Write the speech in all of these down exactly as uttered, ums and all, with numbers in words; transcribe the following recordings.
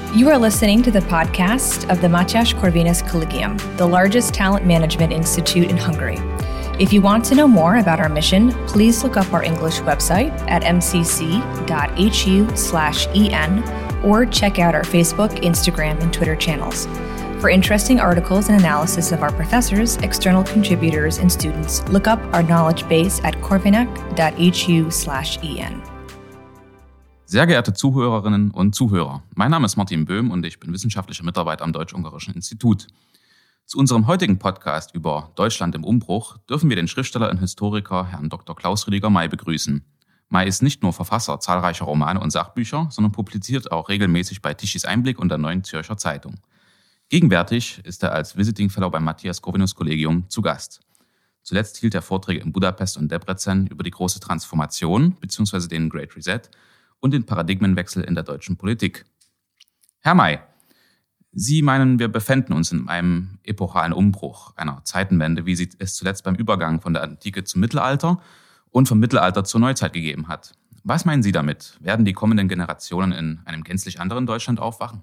You are listening to the podcast of the Matyas Corvinus Collegium, the largest talent management institute in Hungary. If you want to know more about our mission, please look up our English website at m c c dot h u slash e n or check out our Facebook, Instagram, and Twitter channels. For interesting articles and analysis of our professors, external contributors, and students, look up our knowledge base at corvinac dot h u slash e n. Sehr geehrte Zuhörerinnen und Zuhörer, mein Name ist Martin Böhm und ich bin wissenschaftlicher Mitarbeiter am Deutsch-Ungarischen Institut. Zu unserem heutigen Podcast über Deutschland im Umbruch dürfen wir den Schriftsteller und Historiker Herrn Doktor Klaus Rüdiger May begrüßen. May ist nicht nur Verfasser zahlreicher Romane und Sachbücher, sondern publiziert auch regelmäßig bei Tischis Einblick und der Neuen Zürcher Zeitung. Gegenwärtig ist er als Visiting Fellow beim Matyas Corvinus Collegium zu Gast. Zuletzt hielt er Vorträge in Budapest und Debrecen über die große Transformation bzw. den Great Reset und den Paradigmenwechsel in der deutschen Politik. Herr May, Sie meinen, wir befänden uns in einem epochalen Umbruch, einer Zeitenwende, wie sie es zuletzt beim Übergang von der Antike zum Mittelalter und vom Mittelalter zur Neuzeit gegeben hat. Was meinen Sie damit? Werden die kommenden Generationen in einem gänzlich anderen Deutschland aufwachen?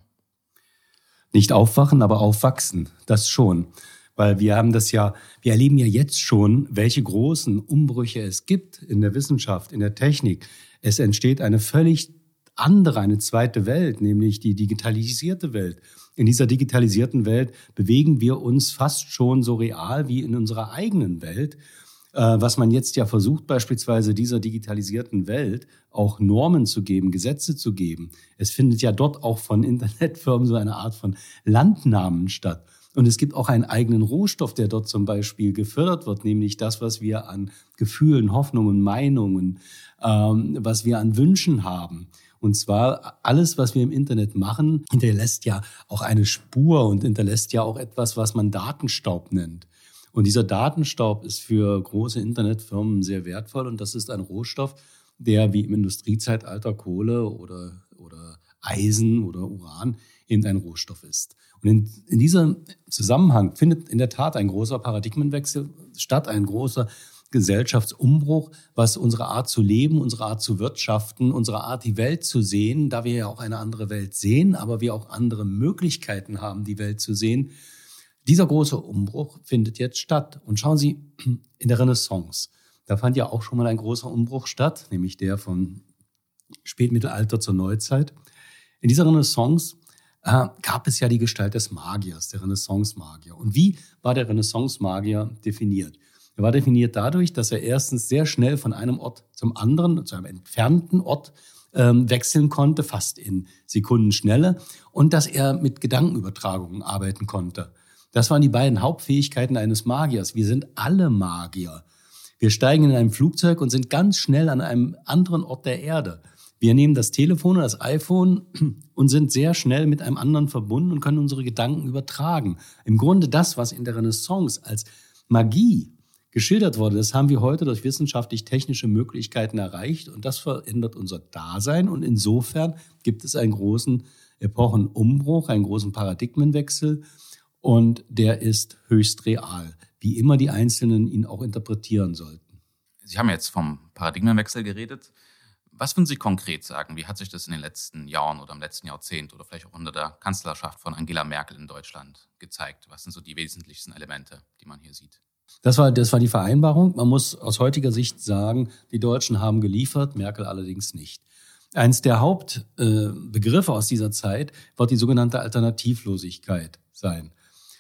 Nicht aufwachen, aber aufwachsen, das schon. Weil wir haben das ja, wir erleben ja jetzt schon, welche großen Umbrüche es gibt in der Wissenschaft, in der Technik. Es entsteht eine völlig andere, eine zweite Welt, nämlich die digitalisierte Welt. In dieser digitalisierten Welt bewegen wir uns fast schon so real wie in unserer eigenen Welt. Was man jetzt ja versucht, beispielsweise dieser digitalisierten Welt auch Normen zu geben, Gesetze zu geben. Es findet ja dort auch von Internetfirmen so eine Art von Landnamen statt. Und es gibt auch einen eigenen Rohstoff, der dort zum Beispiel gefördert wird, nämlich das, was wir an Gefühlen, Hoffnungen, Meinungen, ähm, was wir an Wünschen haben. Und zwar alles, was wir im Internet machen, hinterlässt ja auch eine Spur und hinterlässt ja auch etwas, was man Datenstaub nennt. Und dieser Datenstaub ist für große Internetfirmen sehr wertvoll und das ist ein Rohstoff, der wie im Industriezeitalter Kohle oder, oder Eisen oder Uran eben ein Rohstoff ist. Und in, in diesem Zusammenhang findet in der Tat ein großer Paradigmenwechsel statt, ein großer Gesellschaftsumbruch, was unsere Art zu leben, unsere Art zu wirtschaften, unsere Art, die Welt zu sehen, da wir ja auch eine andere Welt sehen, aber wir auch andere Möglichkeiten haben, die Welt zu sehen. Dieser große Umbruch findet jetzt statt. Und schauen Sie, in der Renaissance, da fand ja auch schon mal ein großer Umbruch statt, nämlich der vom Spätmittelalter zur Neuzeit. In dieser Renaissance äh, gab es ja die Gestalt des Magiers, der Renaissance-Magier. Und wie war der Renaissance-Magier definiert? Er war definiert dadurch, dass er erstens sehr schnell von einem Ort zum anderen, zu einem entfernten Ort ähm, wechseln konnte, fast in Sekundenschnelle, und dass er mit Gedankenübertragungen arbeiten konnte. Das waren die beiden Hauptfähigkeiten eines Magiers. Wir sind alle Magier. Wir steigen in ein Flugzeug und sind ganz schnell an einem anderen Ort der Erde. Wir nehmen das Telefon oder das iPhone und sind sehr schnell mit einem anderen verbunden und können unsere Gedanken übertragen. Im Grunde das, was in der Renaissance als Magie geschildert wurde, das haben wir heute durch wissenschaftlich-technische Möglichkeiten erreicht und das verändert unser Dasein und insofern gibt es einen großen Epochenumbruch, einen großen Paradigmenwechsel und der ist höchst real, wie immer die Einzelnen ihn auch interpretieren sollten. Sie haben jetzt vom Paradigmenwechsel geredet. Was würden Sie konkret sagen? Wie hat sich das in den letzten Jahren oder im letzten Jahrzehnt oder vielleicht auch unter der Kanzlerschaft von Angela Merkel in Deutschland gezeigt? Was sind so die wesentlichsten Elemente, die man hier sieht? Das war, das war die Vereinbarung. Man muss aus heutiger Sicht sagen, die Deutschen haben geliefert, Merkel allerdings nicht. Eins der Hauptbegriffe äh, aus dieser Zeit wird die sogenannte Alternativlosigkeit sein.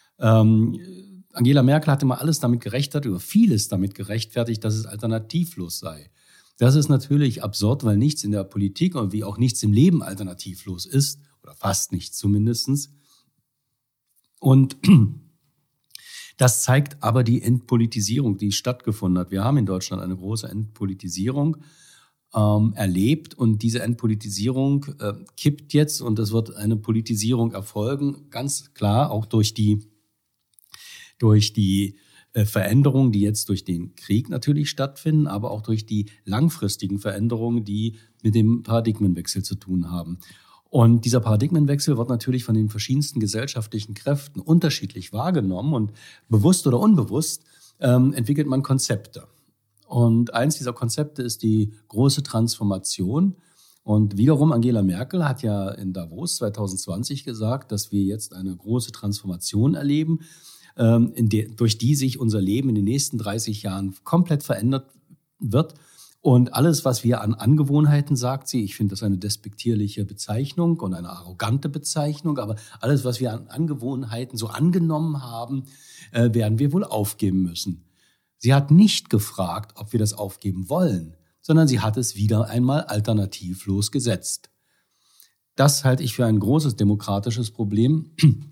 Ähm, Angela Merkel hat immer alles damit gerechtfertigt, oder vieles damit gerechtfertigt, dass es alternativlos sei. Das ist natürlich absurd, weil nichts in der Politik und wie auch nichts im Leben alternativlos ist, oder fast nichts zumindest. Und das zeigt aber die Entpolitisierung, die stattgefunden hat. Wir haben in Deutschland eine große Entpolitisierung ähm, erlebt und diese Entpolitisierung äh, kippt jetzt und es wird eine Politisierung erfolgen, ganz klar auch durch die, durch die äh, Veränderungen, die jetzt durch den Krieg natürlich stattfinden, aber auch durch die langfristigen Veränderungen, die mit dem Paradigmenwechsel zu tun haben. Und dieser Paradigmenwechsel wird natürlich von den verschiedensten gesellschaftlichen Kräften unterschiedlich wahrgenommen und bewusst oder unbewusst ähm, entwickelt man Konzepte. Und eins dieser Konzepte ist die große Transformation. Und wiederum Angela Merkel hat ja in Davos zwanzig zwanzig gesagt, dass wir jetzt eine große Transformation erleben, ähm, in der, durch die sich unser Leben in den nächsten dreißig Jahren komplett verändert wird. Und alles, was wir an Angewohnheiten, sagt sie, ich finde das eine despektierliche Bezeichnung und eine arrogante Bezeichnung, aber alles, was wir an Angewohnheiten so angenommen haben, äh, werden wir wohl aufgeben müssen. Sie hat nicht gefragt, ob wir das aufgeben wollen, sondern sie hat es wieder einmal alternativlos gesetzt. Das halte ich für ein großes demokratisches Problem.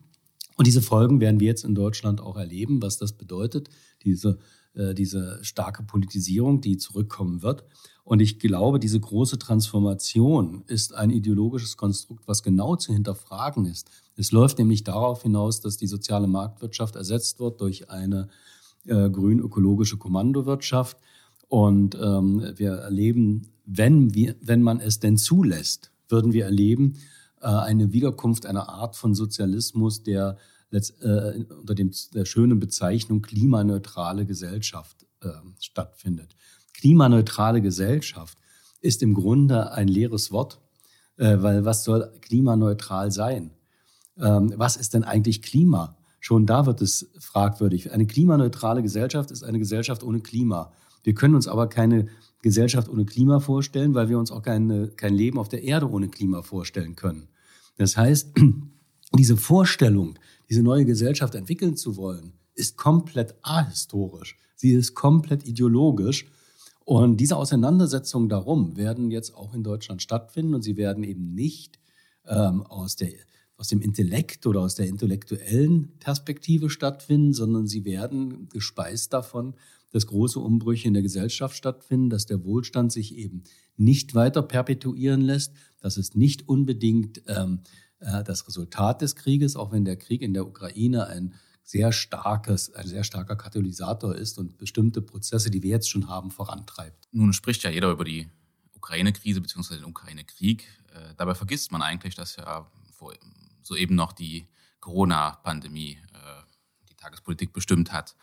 Und diese Folgen werden wir jetzt in Deutschland auch erleben, was das bedeutet, diese, äh, diese starke Politisierung, die zurückkommen wird. Und ich glaube, diese große Transformation ist ein ideologisches Konstrukt, was genau zu hinterfragen ist. Es läuft nämlich darauf hinaus, dass die soziale Marktwirtschaft ersetzt wird durch eine äh, grün-ökologische Kommandowirtschaft. Und ähm, wir erleben, wenn, wir, wenn man es denn zulässt, würden wir erleben, äh, eine Wiederkunft einer Art von Sozialismus, der letzt, äh, unter dem, der schönen Bezeichnung klimaneutrale Gesellschaft äh, stattfindet. Klimaneutrale Gesellschaft ist im Grunde ein leeres Wort, äh, weil was soll klimaneutral sein? Ähm, was ist denn eigentlich Klima? Schon da wird es fragwürdig. Eine klimaneutrale Gesellschaft ist eine Gesellschaft ohne Klima. Wir können uns aber keine Gesellschaft ohne Klima vorstellen, weil wir uns auch keine, kein Leben auf der Erde ohne Klima vorstellen können. Das heißt, diese Vorstellung, diese neue Gesellschaft entwickeln zu wollen, ist komplett ahistorisch. Sie ist komplett ideologisch. Und diese Auseinandersetzungen darum werden jetzt auch in Deutschland stattfinden. Und sie werden eben nicht ähm, aus der, aus dem Intellekt oder aus der intellektuellen Perspektive stattfinden, sondern sie werden gespeist davon, dass große Umbrüche in der Gesellschaft stattfinden, dass der Wohlstand sich eben nicht weiter perpetuieren lässt. Das ist nicht unbedingt ähm, äh, das Resultat des Krieges, auch wenn der Krieg in der Ukraine ein sehr starkes, ein sehr starker Katalysator ist und bestimmte Prozesse, die wir jetzt schon haben, vorantreibt. Nun spricht ja jeder über die Ukraine-Krise bzw. den Ukraine-Krieg. Äh, dabei vergisst man eigentlich, dass ja vor, soeben noch die Corona-Pandemie äh, die Tagespolitik bestimmt hat.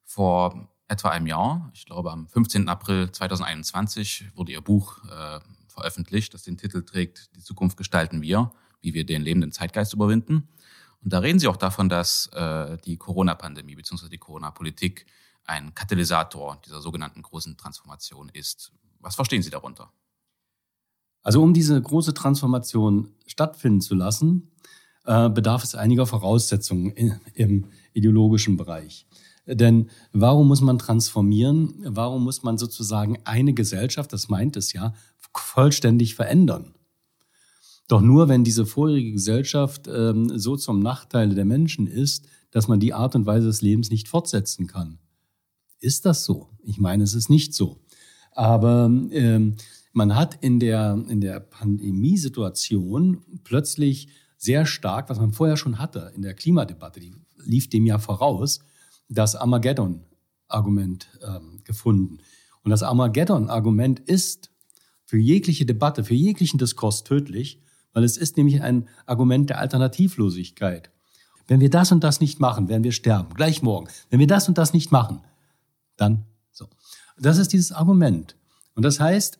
Vor etwa einem Jahr, ich glaube am fünfzehnten April zweitausendeinundzwanzig, wurde ihr Buch äh, veröffentlicht, das den Titel trägt „Die Zukunft gestalten wir, wie wir den lebenden Zeitgeist überwinden". Und da reden sie auch davon, dass äh, die Corona-Pandemie bzw. die Corona-Politik ein Katalysator dieser sogenannten großen Transformation ist. Was verstehen Sie darunter? Also um diese große Transformation stattfinden zu lassen, äh, bedarf es einiger Voraussetzungen in, im ideologischen Bereich. Denn warum muss man transformieren? Warum muss man sozusagen eine Gesellschaft, das meint es ja, vollständig verändern? Doch nur, wenn diese vorherige Gesellschaft ähm, so zum Nachteil der Menschen ist, dass man die Art und Weise des Lebens nicht fortsetzen kann. Ist das so? Ich meine, es ist nicht so. Aber ähm, man hat in der, in der Pandemiesituation plötzlich sehr stark, was man vorher schon hatte in der Klimadebatte, die lief dem ja voraus, das Armageddon-Argument ähm, gefunden. Und das Armageddon-Argument ist für jegliche Debatte, für jeglichen Diskurs tödlich, weil es ist nämlich ein Argument der Alternativlosigkeit. Wenn wir das und das nicht machen, werden wir sterben, gleich morgen. Wenn wir das und das nicht machen, dann so. Das ist dieses Argument. Und das heißt,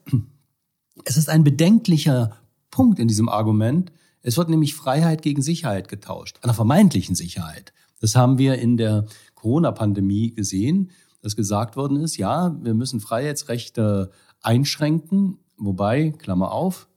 es ist ein bedenklicher Punkt in diesem Argument. Es wird nämlich Freiheit gegen Sicherheit getauscht, einer vermeintlichen Sicherheit. Das haben wir in der Corona-Pandemie gesehen, dass gesagt worden ist, ja, wir müssen Freiheitsrechte einschränken, wobei, Klammer auf,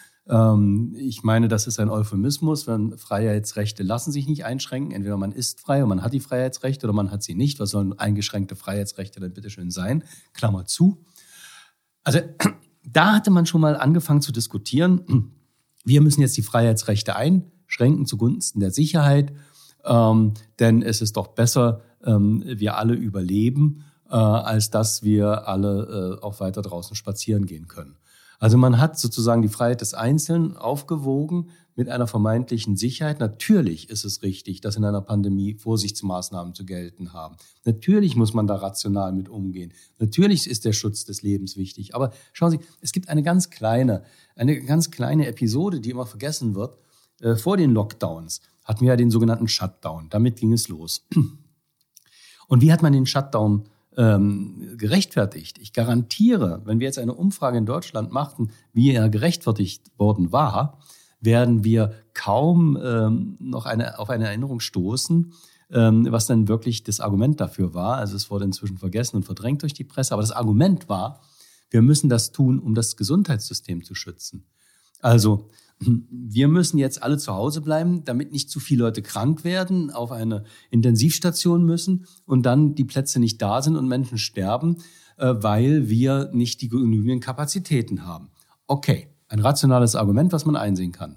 ähm, ich meine, das ist ein Euphemismus, wenn Freiheitsrechte lassen sich nicht einschränken, entweder man ist frei und man hat die Freiheitsrechte oder man hat sie nicht. Was sollen eingeschränkte Freiheitsrechte denn bitte schön sein? Klammer zu. Also da hatte man schon mal angefangen zu diskutieren, wir müssen jetzt die Freiheitsrechte einschränken zugunsten der Sicherheit, ähm, denn es ist doch besser, ähm, wir alle überleben, äh, als dass wir alle äh, auch weiter draußen spazieren gehen können. Also man hat sozusagen die Freiheit des Einzelnen aufgewogen mit einer vermeintlichen Sicherheit. Natürlich ist es richtig, dass in einer Pandemie Vorsichtsmaßnahmen zu gelten haben. Natürlich muss man da rational mit umgehen. Natürlich ist der Schutz des Lebens wichtig. Aber schauen Sie, es gibt eine ganz kleine, eine ganz kleine Episode, die immer vergessen wird. Äh, vor den Lockdowns hatten wir ja den sogenannten Shutdown. Damit ging es los. Und wie hat man den Shutdown ähm, gerechtfertigt. Ich garantiere, wenn wir jetzt eine Umfrage in Deutschland machten, wie er gerechtfertigt worden war, werden wir kaum ähm, noch eine, auf eine Erinnerung stoßen, ähm, was dann wirklich das Argument dafür war. Also es wurde inzwischen vergessen und verdrängt durch die Presse. Aber das Argument war, wir müssen das tun, um das Gesundheitssystem zu schützen. Also wir müssen jetzt alle zu Hause bleiben, damit nicht zu viele Leute krank werden, auf eine Intensivstation müssen und dann die Plätze nicht da sind und Menschen sterben, weil wir nicht die genügenden Kapazitäten haben. Okay, ein rationales Argument, was man einsehen kann.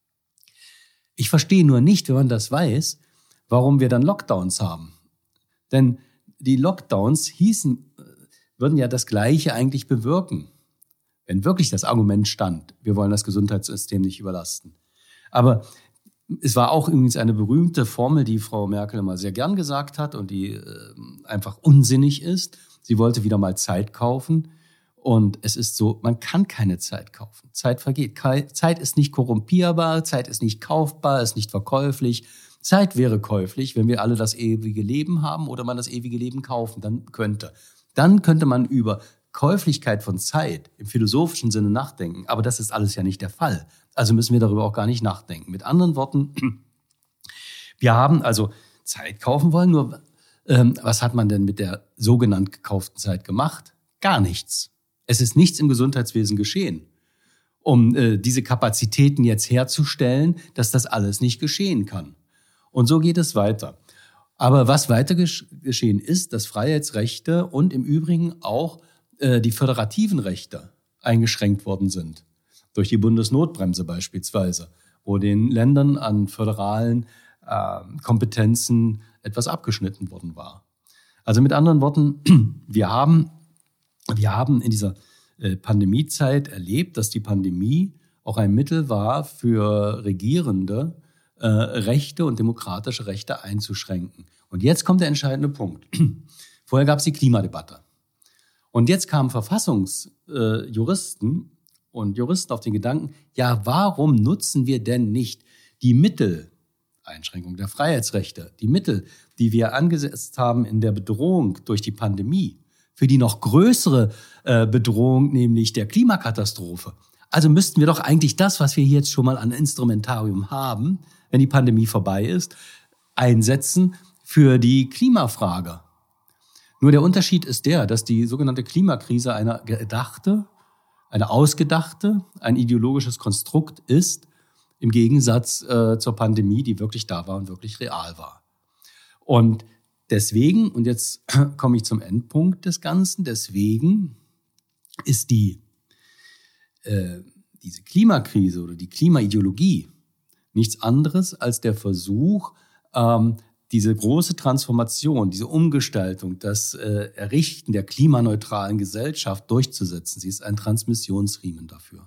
Ich verstehe nur nicht, wenn man das weiß, warum wir dann Lockdowns haben. Denn die Lockdowns hießen, würden ja das Gleiche eigentlich bewirken. Wenn wirklich das Argument stand, wir wollen das Gesundheitssystem nicht überlasten. Aber es war auch übrigens eine berühmte Formel, die Frau Merkel immer sehr gern gesagt hat und die äh, einfach unsinnig ist. Sie wollte wieder mal Zeit kaufen. Und es ist so, man kann keine Zeit kaufen. Zeit vergeht. Zeit ist nicht korrumpierbar, Zeit ist nicht kaufbar, ist nicht verkäuflich. Zeit wäre käuflich, wenn wir alle das ewige Leben haben oder man das ewige Leben kaufen, dann könnte. Dann könnte man über Käuflichkeit von Zeit im philosophischen Sinne nachdenken. Aber das ist alles ja nicht der Fall. Also müssen wir darüber auch gar nicht nachdenken. Mit anderen Worten, wir haben also Zeit kaufen wollen, nur ähm, was hat man denn mit der sogenannt gekauften Zeit gemacht? Gar nichts. Es ist nichts im Gesundheitswesen geschehen, um äh, diese Kapazitäten jetzt herzustellen, dass das alles nicht geschehen kann. Und so geht es weiter. Aber was weiter gesch- geschehen ist, dass Freiheitsrechte und im Übrigen auch die föderativen Rechte eingeschränkt worden sind. Durch die Bundesnotbremse beispielsweise, wo den Ländern an föderalen äh, Kompetenzen etwas abgeschnitten worden war. Also mit anderen Worten, wir haben, wir haben in dieser äh, Pandemiezeit erlebt, dass die Pandemie auch ein Mittel war für Regierende, äh, Rechte und demokratische Rechte einzuschränken. Und jetzt kommt der entscheidende Punkt. Vorher gab es die Klimadebatte. Und jetzt kamen Verfassungsjuristen äh, und Juristen auf den Gedanken, ja, warum nutzen wir denn nicht die Mittel, Einschränkung der Freiheitsrechte, die Mittel, die wir angesetzt haben in der Bedrohung durch die Pandemie, für die noch größere äh, Bedrohung, nämlich der Klimakatastrophe. Also müssten wir doch eigentlich das, was wir jetzt schon mal an Instrumentarium haben, wenn die Pandemie vorbei ist, einsetzen für die Klimafrage. Nur der Unterschied ist der, dass die sogenannte Klimakrise eine gedachte, eine ausgedachte, ein ideologisches Konstrukt ist, im Gegensatz äh, zur Pandemie, die wirklich da war und wirklich real war. Und deswegen, und jetzt komme ich zum Endpunkt des Ganzen, deswegen ist die, äh, diese Klimakrise oder die Klimaideologie nichts anderes als der Versuch, ähm, diese große Transformation, diese Umgestaltung, das äh, Errichten der klimaneutralen Gesellschaft durchzusetzen. Sie ist ein Transmissionsriemen dafür.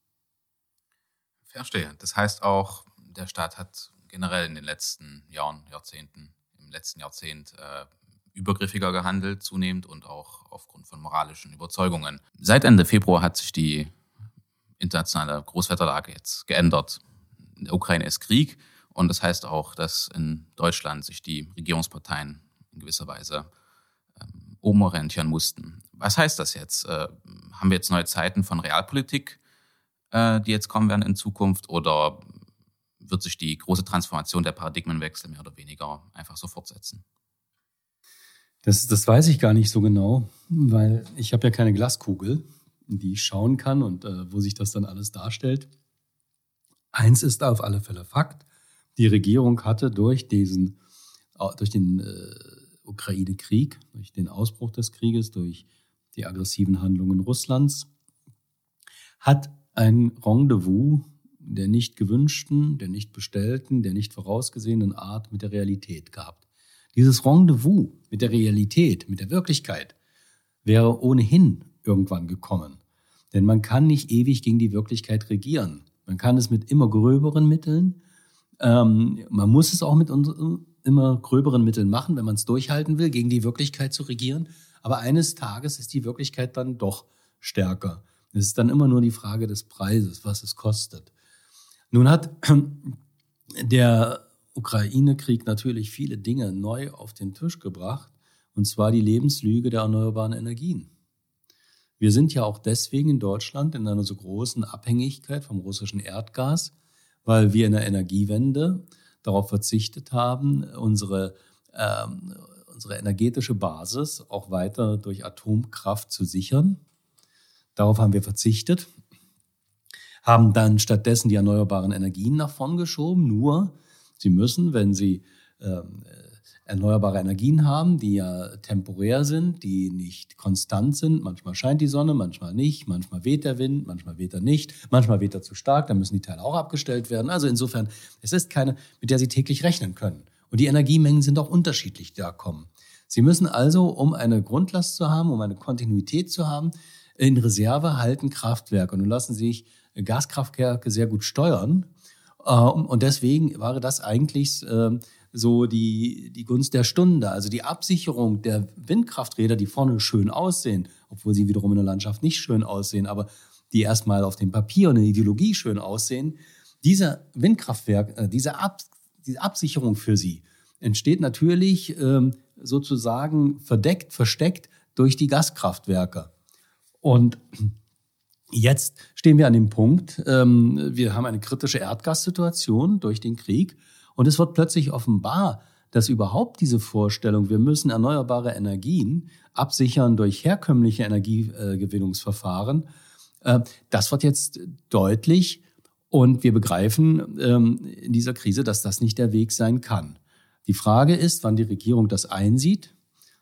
Verstehe. Das heißt auch, der Staat hat generell in den letzten Jahren, Jahrzehnten, im letzten Jahrzehnt äh, übergriffiger gehandelt, zunehmend und auch aufgrund von moralischen Überzeugungen. Seit Ende Februar hat sich die internationale Großwetterlage jetzt geändert. In der Ukraine ist Krieg. Und das heißt auch, dass in Deutschland sich die Regierungsparteien in gewisser Weise ähm, umorientieren mussten. Was heißt das jetzt? Äh, haben wir jetzt neue Zeiten von Realpolitik, äh, die jetzt kommen werden in Zukunft? Oder wird sich die große Transformation der Paradigmenwechsel mehr oder weniger einfach so fortsetzen? Das, das weiß ich gar nicht so genau, weil ich habe ja keine Glaskugel, in die ich schauen kann und äh, wo sich das dann alles darstellt. Eins ist auf alle Fälle Fakt. Die Regierung hatte durch diesen, durch den äh, Ukraine-Krieg, durch den Ausbruch des Krieges, durch die aggressiven Handlungen Russlands, hat ein Rendezvous der nicht gewünschten, der nicht bestellten, der nicht vorausgesehenen Art mit der Realität gehabt. Dieses Rendezvous mit der Realität, mit der Wirklichkeit, wäre ohnehin irgendwann gekommen. Denn man kann nicht ewig gegen die Wirklichkeit regieren. Man kann es mit immer gröberen Mitteln, Ähm, man muss es auch mit unseren immer gröberen Mitteln machen, wenn man es durchhalten will, gegen die Wirklichkeit zu regieren. Aber eines Tages ist die Wirklichkeit dann doch stärker. Es ist dann immer nur die Frage des Preises, was es kostet. Nun hat der Ukraine-Krieg natürlich viele Dinge neu auf den Tisch gebracht und zwar die Lebenslüge der erneuerbaren Energien. Wir sind ja auch deswegen in Deutschland in einer so großen Abhängigkeit vom russischen Erdgas, weil wir in der Energiewende darauf verzichtet haben, unsere, ähm, unsere energetische Basis auch weiter durch Atomkraft zu sichern. Darauf haben wir verzichtet, haben dann stattdessen die erneuerbaren Energien nach vorn geschoben. Nur, sie müssen, wenn sie ähm, erneuerbare Energien haben, die ja temporär sind, die nicht konstant sind. Manchmal scheint die Sonne, manchmal nicht, manchmal weht der Wind, manchmal weht er nicht, manchmal weht er zu stark, dann müssen die Teile auch abgestellt werden. Also insofern, es ist keine, mit der Sie täglich rechnen können. Und die Energiemengen sind auch unterschiedlich, die da kommen. Sie müssen also, um eine Grundlast zu haben, um eine Kontinuität zu haben, in Reserve halten Kraftwerke. Und nun lassen sich Gaskraftwerke sehr gut steuern. Und deswegen war das eigentlich so die, die Gunst der Stunde. Also die Absicherung der Windkrafträder, die vorne schön aussehen, obwohl sie wiederum in der Landschaft nicht schön aussehen, aber die erstmal auf dem Papier und in der Ideologie schön aussehen. Dieser Windkraftwerk, äh, diese, Ab, diese Absicherung für sie entsteht natürlich ähm, sozusagen verdeckt, versteckt durch die Gaskraftwerke. Und jetzt stehen wir an dem Punkt, ähm, wir haben eine kritische Erdgassituation durch den Krieg. Und es wird plötzlich offenbar, dass überhaupt diese Vorstellung, wir müssen erneuerbare Energien absichern durch herkömmliche Energiegewinnungsverfahren, äh, das wird jetzt deutlich. Und wir begreifen ähm, in dieser Krise, dass das nicht der Weg sein kann. Die Frage ist, wann die Regierung das einsieht.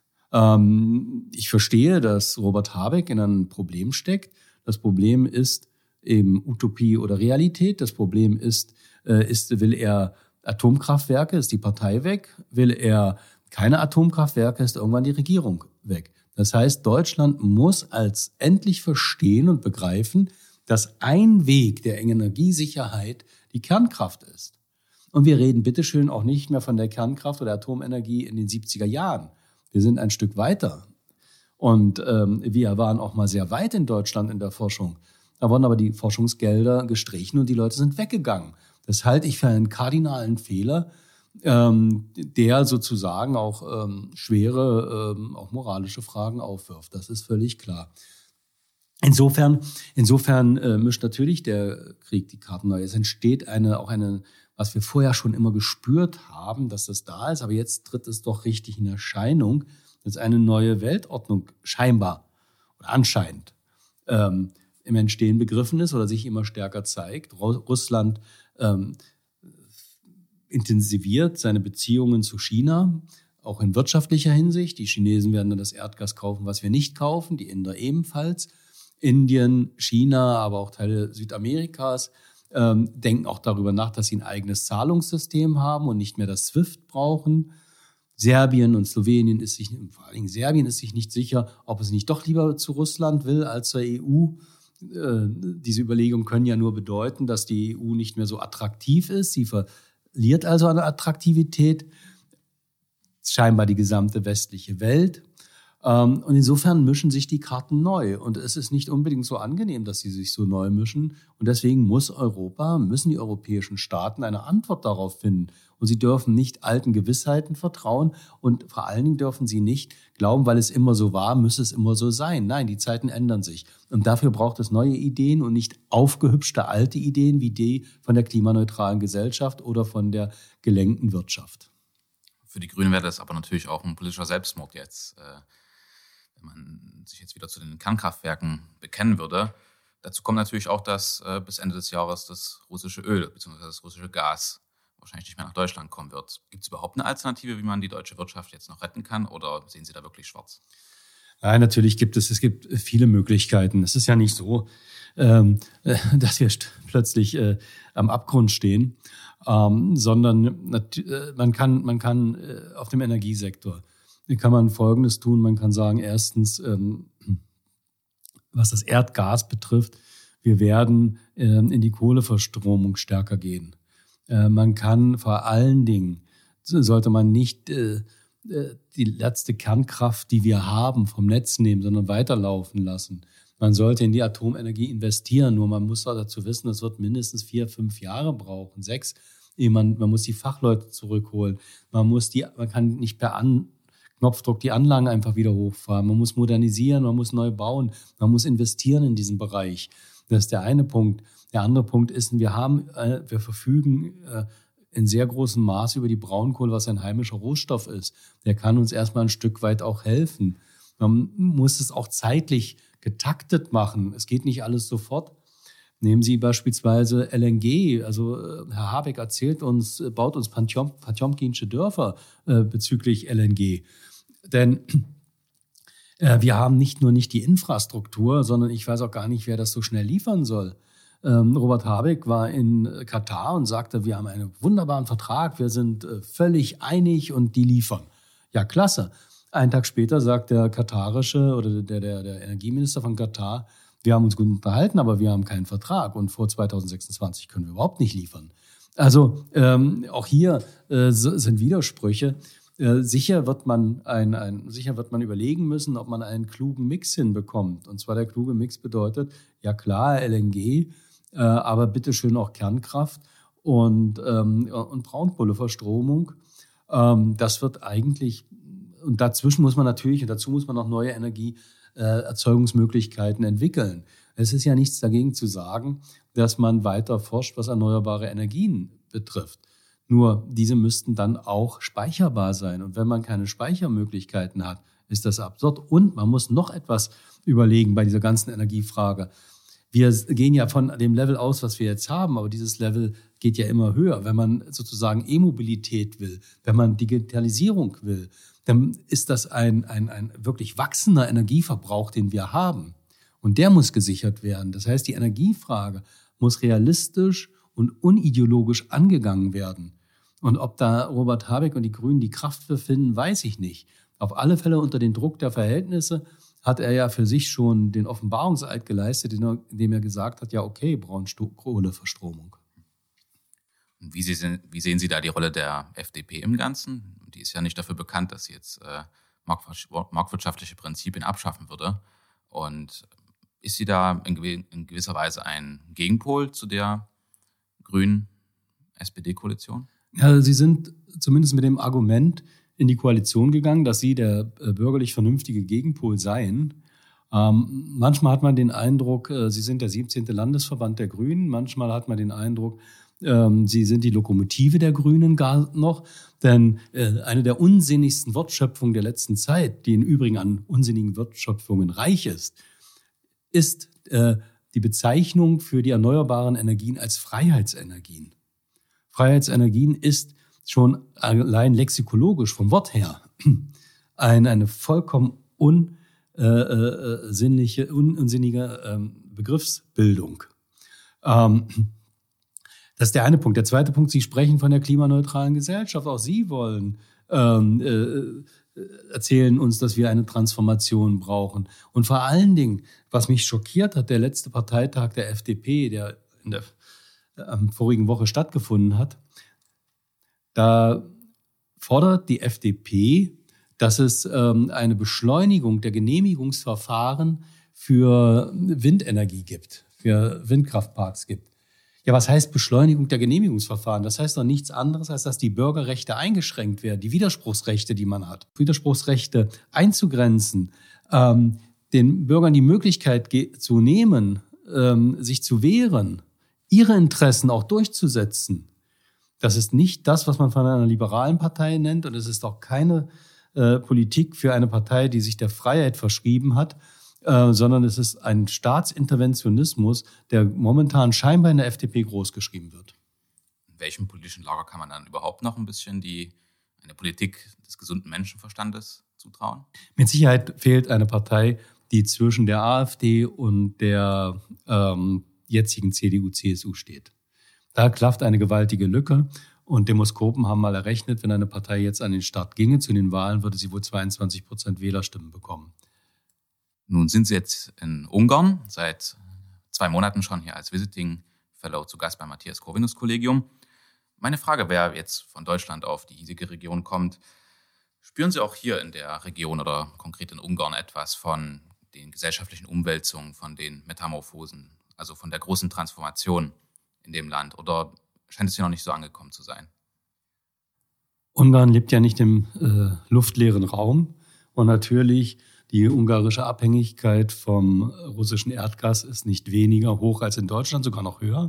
Ähm, ich verstehe, dass Robert Habeck in einem Problem steckt. Das Problem ist eben Utopie oder Realität. Das Problem ist, äh, ist will er Atomkraftwerke, ist die Partei weg. Will er keine Atomkraftwerke, ist irgendwann die Regierung weg. Das heißt, Deutschland muss als endlich verstehen und begreifen, dass ein Weg der Energiesicherheit die Kernkraft ist. Und wir reden bitteschön auch nicht mehr von der Kernkraft oder Atomenergie in den siebziger Jahren. Wir sind ein Stück weiter. Und ähm, wir waren auch mal sehr weit in Deutschland in der Forschung. Da wurden aber die Forschungsgelder gestrichen und die Leute sind weggegangen. Das halte ich für einen kardinalen Fehler, ähm, der sozusagen auch ähm, schwere, ähm, auch moralische Fragen aufwirft. Das ist völlig klar. Insofern, insofern äh, mischt natürlich der Krieg die Karten neu. Es entsteht eine, auch eine, was wir vorher schon immer gespürt haben, dass das da ist, aber jetzt tritt es doch richtig in Erscheinung, dass eine neue Weltordnung scheinbar oder anscheinend ähm, im Entstehen begriffen ist oder sich immer stärker zeigt. Russland ähm, intensiviert seine Beziehungen zu China, auch in wirtschaftlicher Hinsicht. Die Chinesen werden dann das Erdgas kaufen, was wir nicht kaufen, die Inder ebenfalls. Indien, China, aber auch Teile Südamerikas ähm, denken auch darüber nach, dass sie ein eigenes Zahlungssystem haben und nicht mehr das SWIFT brauchen. Serbien und Slowenien ist sich, vor allen Dingen Serbien ist sich nicht sicher, ob es nicht doch lieber zu Russland will als zur E U. Äh, diese Überlegungen können ja nur bedeuten, dass die E U nicht mehr so attraktiv ist. Sie verliert also an Attraktivität, scheinbar die gesamte westliche Welt. Und insofern mischen sich die Karten neu. Und es ist nicht unbedingt so angenehm, dass sie sich so neu mischen. Und deswegen muss Europa, müssen die europäischen Staaten eine Antwort darauf finden. Und sie dürfen nicht alten Gewissheiten vertrauen. Und vor allen Dingen dürfen sie nicht glauben, weil es immer so war, müsse es immer so sein. Nein, die Zeiten ändern sich. Und dafür braucht es neue Ideen und nicht aufgehübschte alte Ideen wie die von der klimaneutralen Gesellschaft oder von der gelenkten Wirtschaft. Für die Grünen wäre das aber natürlich auch ein politischer Selbstmord jetzt, wenn man sich jetzt wieder zu den Kernkraftwerken bekennen würde. Dazu kommt natürlich auch, dass äh, bis Ende des Jahres das russische Öl bzw. das russische Gas wahrscheinlich nicht mehr nach Deutschland kommen wird. Gibt es überhaupt eine Alternative, wie man die deutsche Wirtschaft jetzt noch retten kann, oder sehen Sie da wirklich schwarz? Nein, natürlich gibt es, es gibt viele Möglichkeiten. Es ist ja nicht so, ähm, dass wir plötzlich äh, am Abgrund stehen, ähm, sondern äh, man kann, man kann äh, auf dem Energiesektor kann man Folgendes tun. Man kann sagen, erstens, ähm, was das Erdgas betrifft, wir werden ähm, in die Kohleverstromung stärker gehen. Äh, man kann vor allen Dingen, sollte man nicht äh, die letzte Kernkraft, die wir haben, vom Netz nehmen, sondern weiterlaufen lassen. Man sollte in die Atomenergie investieren, nur man muss auch dazu wissen, das wird mindestens vier, fünf Jahre brauchen, sechs. Man, man muss die Fachleute zurückholen. Man muss die, man kann nicht per An Knopfdruck die Anlagen einfach wieder hochfahren. Man muss modernisieren, man muss neu bauen, man muss investieren in diesen Bereich. Das ist der eine Punkt. Der andere Punkt ist, wir haben, äh, wir verfügen äh, in sehr großem Maß über die Braunkohle, was ein heimischer Rohstoff ist. Der kann uns erstmal ein Stück weit auch helfen. Man muss es auch zeitlich getaktet machen. Es geht nicht alles sofort. Nehmen Sie beispielsweise L N G. Also Herr Habeck erzählt uns, baut uns Potjom, Potjomkinsche Dörfer äh, bezüglich L N G. Denn äh, wir haben nicht nur nicht die Infrastruktur, sondern ich weiß auch gar nicht, wer das so schnell liefern soll. Ähm, Robert Habeck war in Katar und sagte, wir haben einen wunderbaren Vertrag, wir sind äh, völlig einig und die liefern. Ja, klasse. Einen Tag später sagt der katarische oder der, der, der Energieminister von Katar, wir haben uns gut unterhalten, aber wir haben keinen Vertrag und vor zwanzig sechsundzwanzig können wir überhaupt nicht liefern. Also ähm, auch hier äh, sind Widersprüche. Äh, sicher wird man ein, ein, sicher wird man überlegen müssen, ob man einen klugen Mix hinbekommt. Und zwar der kluge Mix bedeutet, ja klar, L N G, äh, aber bitteschön auch Kernkraft und, ähm, und Braunkohleverstromung. Ähm, das wird eigentlich, und dazwischen muss man natürlich, und dazu muss man noch neue Energie Erzeugungsmöglichkeiten entwickeln. Es ist ja nichts dagegen zu sagen, dass man weiter forscht, was erneuerbare Energien betrifft. Nur diese müssten dann auch speicherbar sein. Und wenn man keine Speichermöglichkeiten hat, ist das absurd. Und man muss noch etwas überlegen bei dieser ganzen Energiefrage. Wir gehen ja von dem Level aus, was wir jetzt haben, aber dieses Level geht ja immer höher. Wenn man sozusagen E-Mobilität will, wenn man Digitalisierung will, dann ist das ein, ein, ein wirklich wachsender Energieverbrauch, den wir haben. Und der muss gesichert werden. Das heißt, die Energiefrage muss realistisch und unideologisch angegangen werden. Und ob da Robert Habeck und die Grünen die Kraft für finden, weiß ich nicht. Auf alle Fälle unter den Druck der Verhältnisse hat er ja für sich schon den Offenbarungseid geleistet, indem er gesagt hat, ja okay, Braunkohleverstromung. Wie, Sie, wie sehen Sie da die Rolle der F D P im Ganzen? Die ist ja nicht dafür bekannt, dass sie jetzt äh, marktwirtschaftliche Prinzipien abschaffen würde. Und ist sie da in, gew- in gewisser Weise ein Gegenpol zu der grünen S P D-Koalition? Ja, sie sind zumindest mit dem Argument in die Koalition gegangen, dass sie der äh, bürgerlich vernünftige Gegenpol seien. Ähm, manchmal hat man den Eindruck, äh, sie sind der siebzehnte Landesverband der Grünen. Manchmal hat man den Eindruck, ähm, sie sind die Lokomotive der Grünen gar noch. Denn äh, eine der unsinnigsten Wortschöpfungen der letzten Zeit, die im Übrigen an unsinnigen Wortschöpfungen reich ist, ist äh, die Bezeichnung für die erneuerbaren Energien als Freiheitsenergien. Freiheitsenergien ist schon allein lexikologisch vom Wort her ein, eine vollkommen unsinnliche, äh, un, unsinnige ähm, Begriffsbildung. Ähm, das ist der eine Punkt. Der zweite Punkt, Sie sprechen von der klimaneutralen Gesellschaft. Auch Sie wollen ähm, äh, erzählen uns, dass wir eine Transformation brauchen. Und vor allen Dingen, was mich schockiert hat, der letzte Parteitag der F D P, der in der am vorigen Woche stattgefunden hat, da fordert die F D P, dass es ähm, eine Beschleunigung der Genehmigungsverfahren für Windenergie gibt, für Windkraftparks gibt. Ja, was heißt Beschleunigung der Genehmigungsverfahren? Das heißt doch nichts anderes, als dass die Bürgerrechte eingeschränkt werden, die Widerspruchsrechte, die man hat. Widerspruchsrechte einzugrenzen, ähm, den Bürgern die Möglichkeit ge- zu nehmen, ähm, sich zu wehren, ihre Interessen auch durchzusetzen. Das ist nicht das, was man von einer liberalen Partei nennt, und es ist auch keine äh, Politik für eine Partei, die sich der Freiheit verschrieben hat, äh, sondern es ist ein Staatsinterventionismus, der momentan scheinbar in der F D P großgeschrieben wird. In welchem politischen Lager kann man dann überhaupt noch ein bisschen die, eine Politik des gesunden Menschenverstandes zutrauen? Mit Sicherheit fehlt eine Partei, die zwischen der AfD und der ähm, jetzigen C D U C S U steht. Da klafft eine gewaltige Lücke, und Demoskopen haben mal errechnet, wenn eine Partei jetzt an den Start ginge zu den Wahlen, würde sie wohl zweiundzwanzig Prozent Wählerstimmen bekommen. Nun sind Sie jetzt in Ungarn, seit zwei Monaten schon hier als Visiting Fellow zu Gast beim Matthias-Corvinus-Kollegium. Meine Frage, wer jetzt von Deutschland auf die hiesige Region kommt, spüren Sie auch hier in der Region oder konkret in Ungarn etwas von den gesellschaftlichen Umwälzungen, von den Metamorphosen, also von der großen Transformation in dem Land, oder scheint es hier noch nicht so angekommen zu sein? Ungarn lebt ja nicht im äh, luftleeren Raum und natürlich die ungarische Abhängigkeit vom russischen Erdgas ist nicht weniger hoch als in Deutschland, sogar noch höher.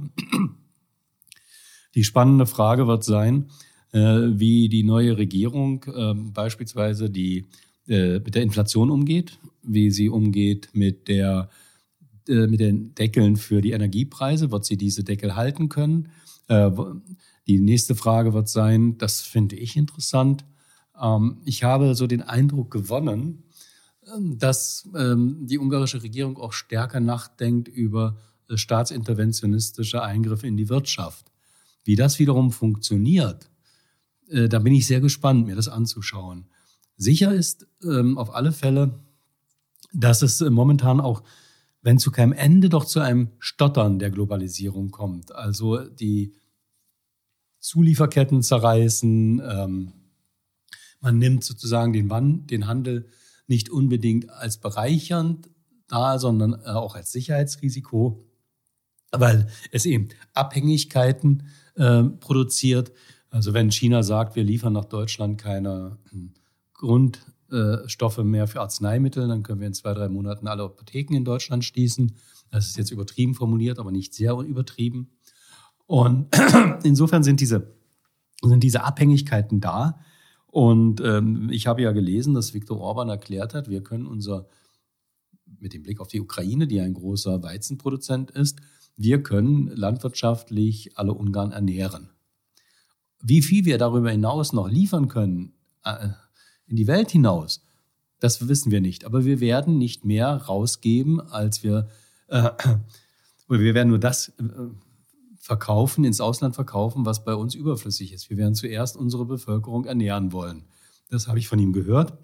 Die spannende Frage wird sein, äh, wie die neue Regierung äh, beispielsweise die, äh, mit der Inflation umgeht, wie sie umgeht mit, der, äh, mit den Deckeln für die Energiepreise. Wird sie diese Deckel halten können? Äh, die nächste Frage wird sein, das finde ich interessant. Ähm, ich habe so den Eindruck gewonnen, dass ähm, die ungarische Regierung auch stärker nachdenkt über äh, staatsinterventionistische Eingriffe in die Wirtschaft. Wie das wiederum funktioniert, äh, da bin ich sehr gespannt, mir das anzuschauen. Sicher ist ähm, auf alle Fälle, dass es äh, momentan auch, wenn zu keinem Ende, doch zu einem Stottern der Globalisierung kommt. Also die Zulieferketten zerreißen, ähm, man nimmt sozusagen den, Wand, den Handel nicht unbedingt als bereichernd da, sondern auch als Sicherheitsrisiko, weil es eben Abhängigkeiten äh, produziert. Also wenn China sagt, wir liefern nach Deutschland keine hm, Grundstoffe mehr für Arzneimittel, dann können wir in zwei, drei Monaten alle Apotheken in Deutschland schließen. Das ist jetzt übertrieben formuliert, aber nicht sehr übertrieben. Und insofern sind diese, sind diese Abhängigkeiten da. Und ähm, ich habe ja gelesen, dass Viktor Orban erklärt hat, wir können unser, mit dem Blick auf die Ukraine, die ein großer Weizenproduzent ist, wir können landwirtschaftlich alle Ungarn ernähren. Wie viel wir darüber hinaus noch liefern können, äh, in die Welt hinaus, das wissen wir nicht. Aber wir werden nicht mehr rausgeben, als wir, äh, oder wir werden nur das äh, verkaufen, ins Ausland verkaufen, was bei uns überflüssig ist. Wir werden zuerst unsere Bevölkerung ernähren wollen. Das habe ich von ihm gehört.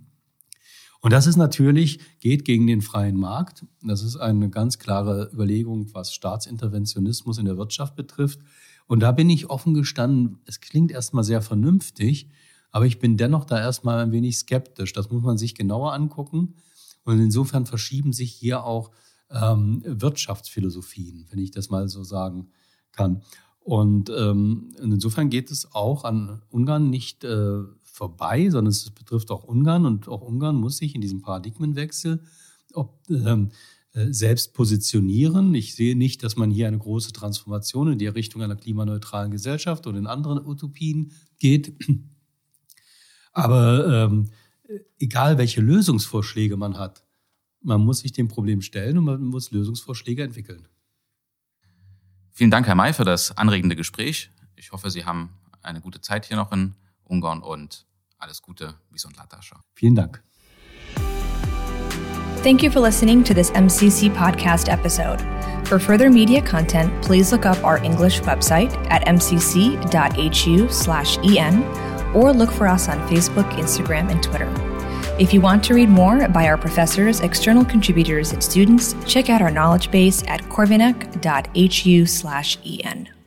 Und das ist natürlich, geht gegen den freien Markt. Das ist eine ganz klare Überlegung, was Staatsinterventionismus in der Wirtschaft betrifft. Und da bin ich offen gestanden, es klingt erstmal sehr vernünftig, aber ich bin dennoch da erstmal ein wenig skeptisch. Das muss man sich genauer angucken. Und insofern verschieben sich hier auch ähm, Wirtschaftsphilosophien, wenn ich das mal so sagen kann. Und ähm, insofern geht es auch an Ungarn nicht äh, vorbei, sondern es betrifft auch Ungarn. Und auch Ungarn muss sich in diesem Paradigmenwechsel ob, ähm, äh, selbst positionieren. Ich sehe nicht, dass man hier eine große Transformation in die Richtung einer klimaneutralen Gesellschaft oder in anderen Utopien geht. Aber ähm, egal, welche Lösungsvorschläge man hat, man muss sich dem Problem stellen und man muss Lösungsvorschläge entwickeln. Vielen Dank, Herr May, für das anregende Gespräch. Ich hoffe, Sie haben eine gute Zeit hier noch in Ungarn und alles Gute, Viszontlátásra. Vielen Dank. Thank you for listening to this M C C podcast episode. For further media content, please look up our English website at m c c dot h u slash e n or look for us on Facebook, Instagram, and Twitter. If you want to read more by our professors, external contributors, and students, check out our knowledge base at corvinec dot h u slash e n.